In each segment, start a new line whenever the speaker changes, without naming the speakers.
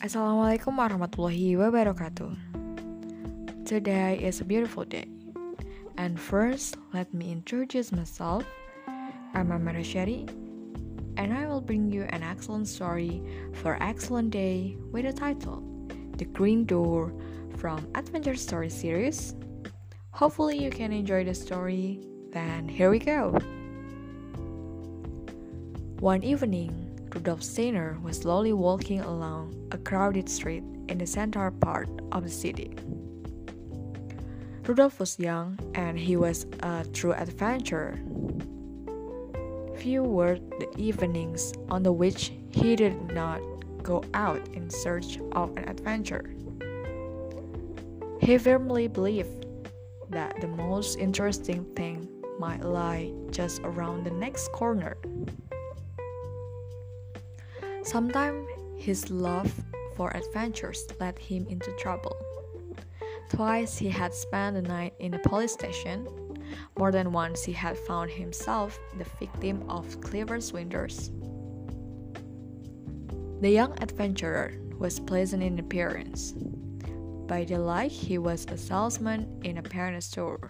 Assalamualaikum warahmatullahi wabarakatuh. Today is a beautiful day. And first, let me introduce myself. I'm Amara Shari, and I will bring you an excellent story for excellent day with the title, The Green Door from Adventure Story series. Hopefully you can enjoy the story. Then here we go. One evening, Rudolf Steiner was slowly walking along a crowded street in the central part of the city. Rudolf was young and he was a true adventurer. Few were the evenings on the which he did not go out in search of an adventure. He firmly believed that the most interesting thing might lie just around the next corner. Sometimes his love for adventures led him into trouble. Twice he had spent the night in a police station. More than once he had found himself the victim of clever swindlers. The young adventurer was pleasant in appearance. By daylight he was a salesman in a parent store.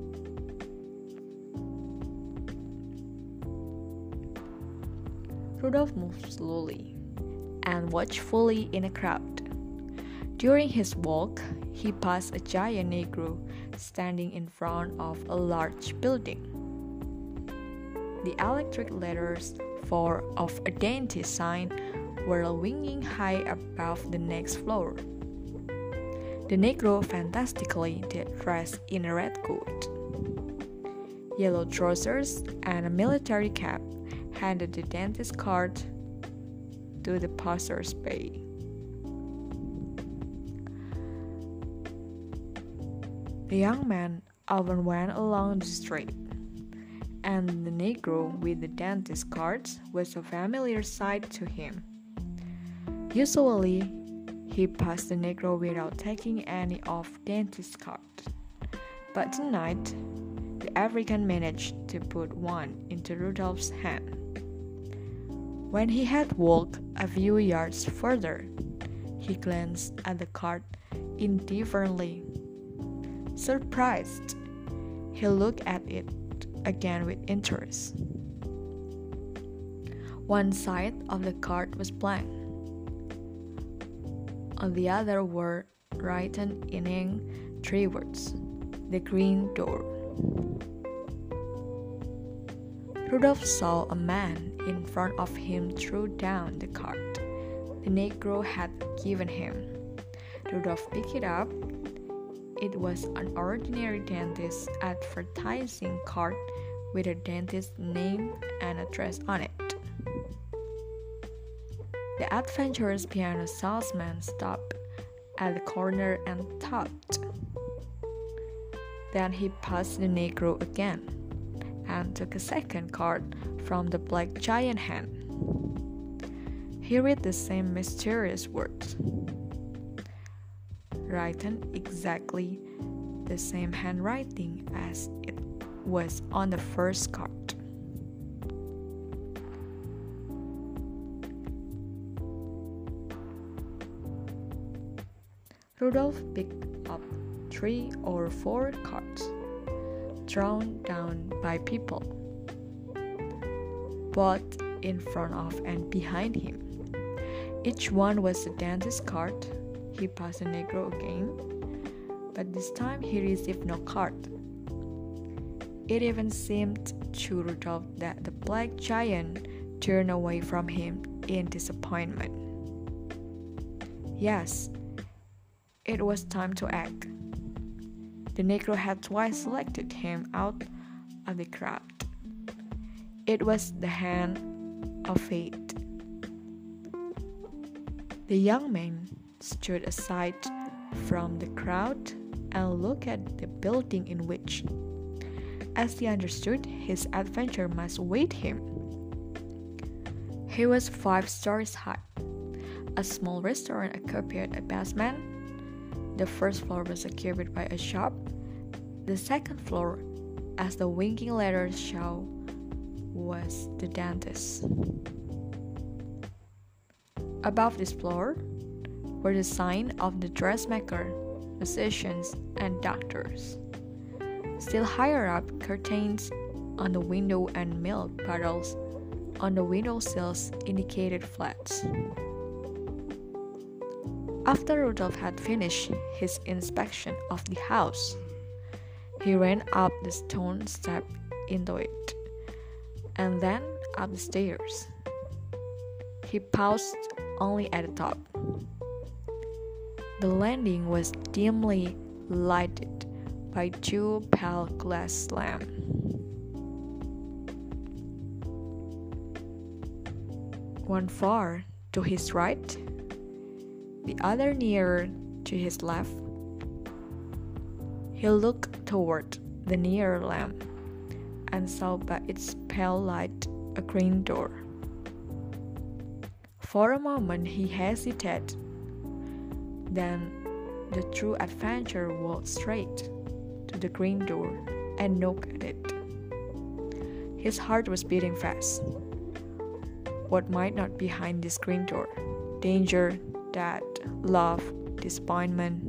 Rudolf moved slowly and watchfully in a crowd. During his walk, he passed a giant Negro standing in front of a large building. The electric letters of a dentist sign were winging high above the next floor. The Negro fantastically dressed in a red coat, yellow trousers, and a military cap handed the dentist's card to the passers-by. The young man often went along the street, and the Negro with the dentist's cards was a familiar sight to him. Usually, he passed the Negro without taking any of the dentist's cards, but tonight, the African managed to put one into Rudolph's hand. When he had walked a few yards further, he glanced at the card indifferently. Surprised, he looked at it again with interest. One side of the card was blank. On the other were written in ink three words: The Green Door. Rudolph saw a man in front of him threw down the card the Negro had given him. Rudolph picked it up. It was an ordinary dentist advertising card with a dentist's name and address on it. The adventurous piano salesman stopped at the corner and thought. Then he passed the Negro again and took a second card from the black giant hand. He read the same mysterious words, written exactly the same handwriting as it was on the first card. Rudolph picked up 3 or 4 cards thrown down by people, both in front of and behind him. Each one was a dentist's card. He passed the Negro again, but this time he received no card. It even seemed to Rudolph that the black giant turned away from him in disappointment. Yes, it was time to act. The Negro had twice selected him out of the crowd. It was the hand of fate. The young man stood aside from the crowd and looked at the building in which, as he understood, his adventure must await him. He was 5 stories high. A small restaurant occupied a basement. The first floor was occupied by a shop. The second floor, as the winking letters show, was the dentist. Above this floor, were the sign of the dressmaker, musicians, and doctors. Still higher up, curtains on the window and milk bottles on the windowsills indicated flats. After Rudolph had finished his inspection of the house, he ran up the stone step into it, and then up the stairs. He paused only at the top. The landing was dimly lighted by two pale glass lamps. One far to his right, the other nearer to his left. He looked toward the nearer lamp and saw by its pale light a green door. For a moment he hesitated. Then the true adventurer walked straight to the green door and knocked at it. His heart was beating fast. What might not be behind this green door? Danger, death, love, disappointment.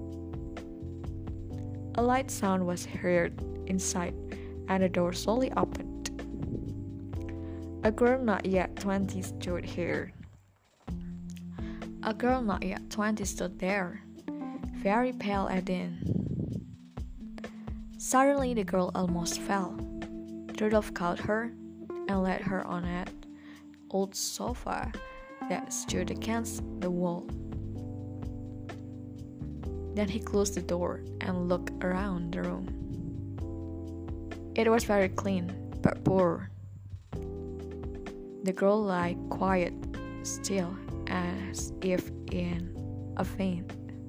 A light sound was heard inside, and the door slowly opened. A girl not yet 20 stood here. A girl not yet 20 stood there, very pale and thin. Suddenly the girl almost fell. Rudolph caught her and led her on an old sofa that stood against the wall. Then he closed the door and looked around the room. It was very clean, but poor. The girl lay quiet, still, as if in a faint.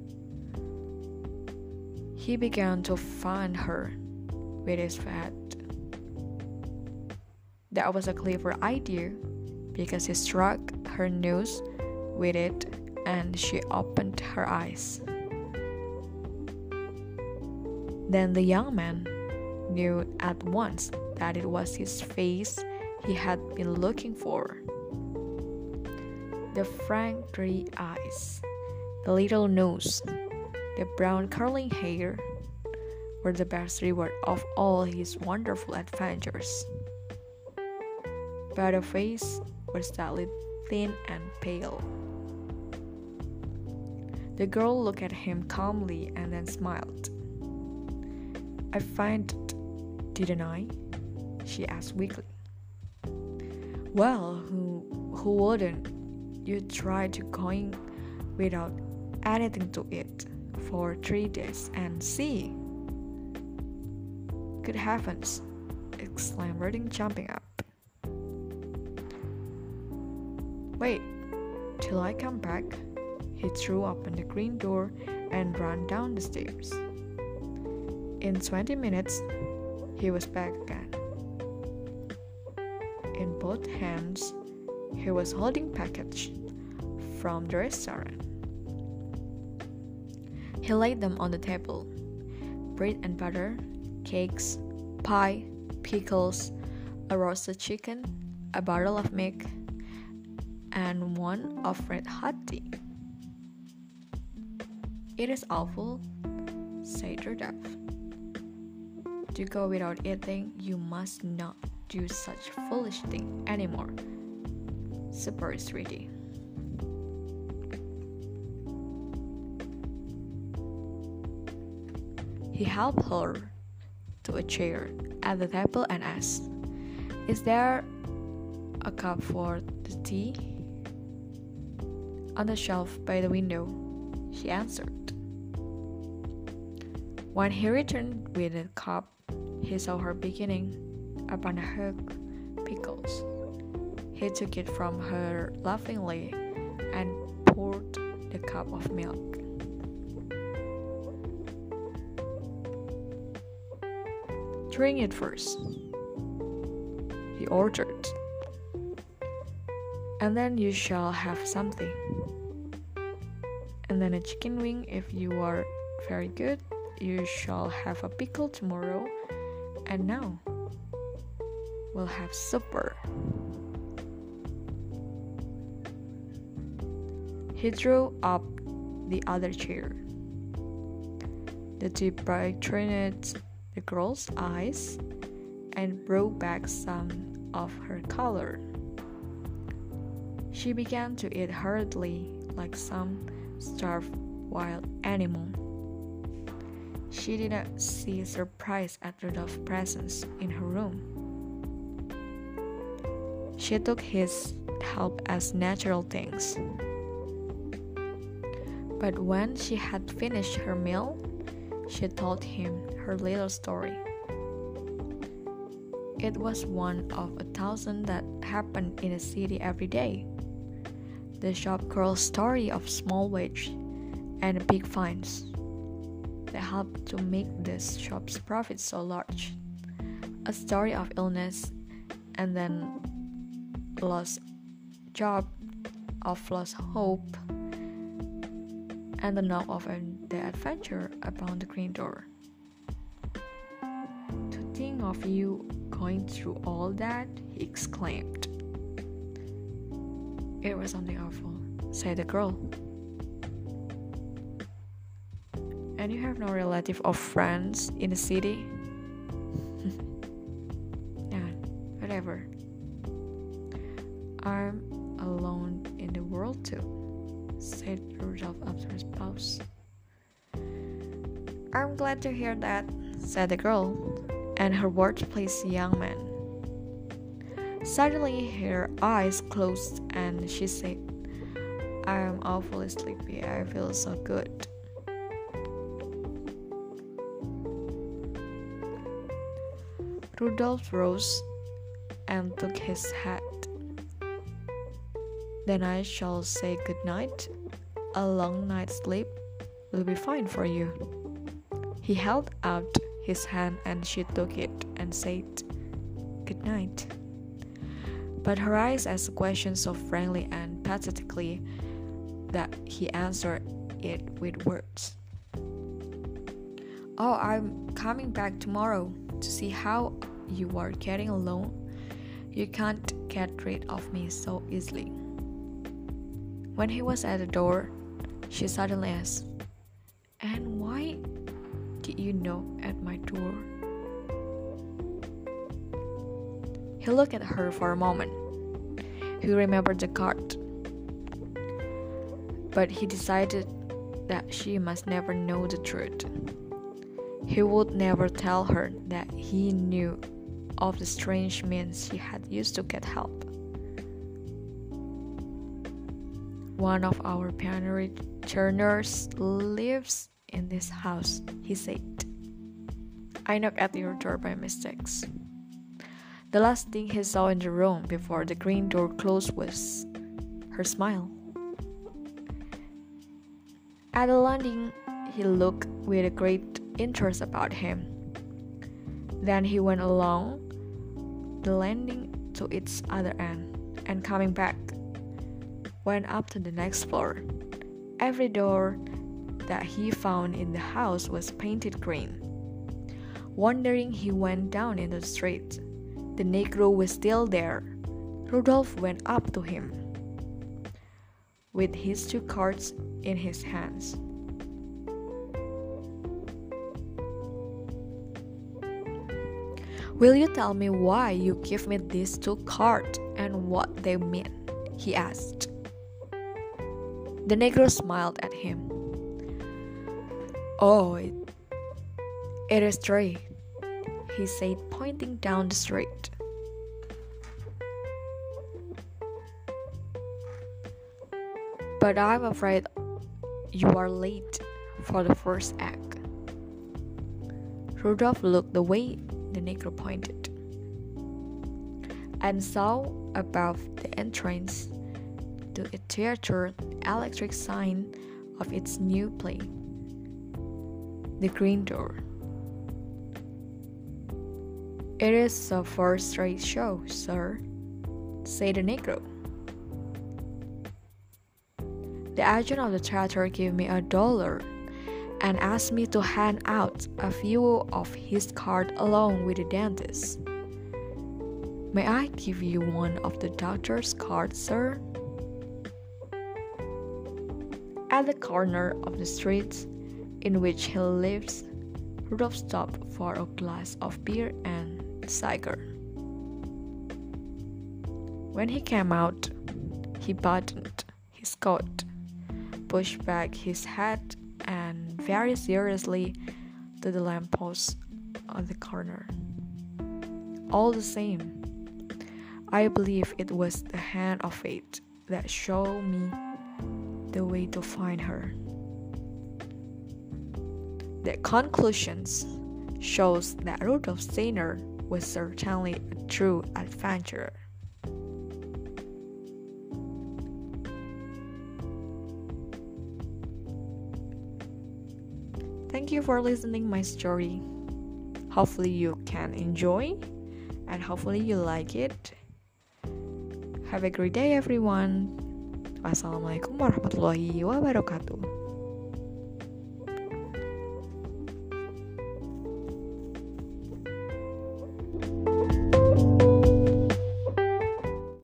He began to fan her with his hat. That was a clever idea, because he struck her nose with it and she opened her eyes. Then the young man knew at once that it was his face he had been looking for. The frank gray eyes, the little nose, the brown curling hair were the best reward of all his wonderful adventures. But the face was sadly thin and pale. The girl looked at him calmly and then smiled. "I find it, didn't I?" she asked weakly. "Well, who wouldn't? You tried to going without anything to eat for 3 days and see." "Good heavens!" exclaimed Redding, jumping up. "Wait till I come back." He threw open the green door and ran down the stairs. In 20 minutes, he was back again. In both hands, he was holding package from the restaurant. He laid them on the table. Bread and butter, cakes, pie, pickles, a roasted chicken, a bottle of milk, and one of red hot tea. "It is awful," said Rudolph. "To go without eating, you must not do such foolish thing anymore. Supper is ready." He helped her to a chair at the table and asked, "Is there a cup for the tea?" "On the shelf by the window," she answered. When he returned with the cup, he saw her beginning upon a hook pickles. He took it from her laughingly and poured the cup of milk. "Drink it first," he ordered, "and then you shall have something. And then a chicken wing if you are very good. You shall have a pickle tomorrow. And now we'll have supper." He drew up the other chair. The tip brightened the girl's eyes and brought back some of her color. She began to eat hurriedly like some starved wild animal. She did not see surprise at Rudolph's presence in her room. She took his help as natural things. But when she had finished her meal, she told him her little story. It was one of 1,000 that happened in the city every day. The shop girl's story of small wage and big fines that helped to make the shop's profit so large. A story of illness and then lost job, of lost hope, and the knock of the adventure upon the green door. To think of you going through all that, he exclaimed. It was something awful, said the girl. And you have no relative or friends in the city? Yeah, whatever. I'm alone in the world too, said Rudolph after his pause. I'm glad to hear that, said the girl, and her words pleased the young man. Suddenly her eyes closed and she said, I am awfully sleepy, I feel so good. Rudolph rose and took his hat. Then I shall say good night. A long night's sleep will be fine for you. He held out his hand and she took it and said, good night. But her eyes asked the question so frankly and pathetically that he answered it with words. Oh, I'm coming back tomorrow to see how you are getting along. You can't get rid of me so easily. When he was at the door, she suddenly asked, and why did you knock at my door? He looked at her for a moment. He remembered the card, but he decided that she must never know the truth. He would never tell her that he knew of the strange means she had used to get help. One of our pioneer turners lives in this house, he said. I knocked at your door by mistake. The last thing he saw in the room before the green door closed was her smile. At the landing, he looked with a great interest about him. Then he went along the landing to its other end, and coming back, went up to the next floor. Every door that he found in the house was painted green. Wondering, he went down in the street. The Negro was still there. Rudolph went up to him with his 2 cards in his hands. Will you tell me why you give me these 2 cards and what they mean? He asked. The Negro smiled at him. Oh, it is 3, he said, pointing down the street. But I'm afraid you are late for the first act. Rudolph looked the way the Negro pointed, and saw above the entrance to a theater electric sign of its new play, The Green Door. It is a first-rate show, sir, said the Negro. The agent of the theater gave me $1 and asked me to hand out a few of his cards along with the dentist. May I give you one of the doctor's cards, sir? At the corner of the street in which he lives, Rudolph stopped for a glass of beer and a cigar. When he came out, he buttoned his coat, pushed back his hat, and very seriously to the lamppost on the corner. All the same, I believe it was the hand of fate that showed me the way to find her. The conclusions shows that Rudolf Steiner was certainly a true adventurer. Thank you for listening my story. Hopefully you can enjoy and hopefully you like it. Have a great day everyone. Wassalamualaikum warahmatullahi wabarakatuh.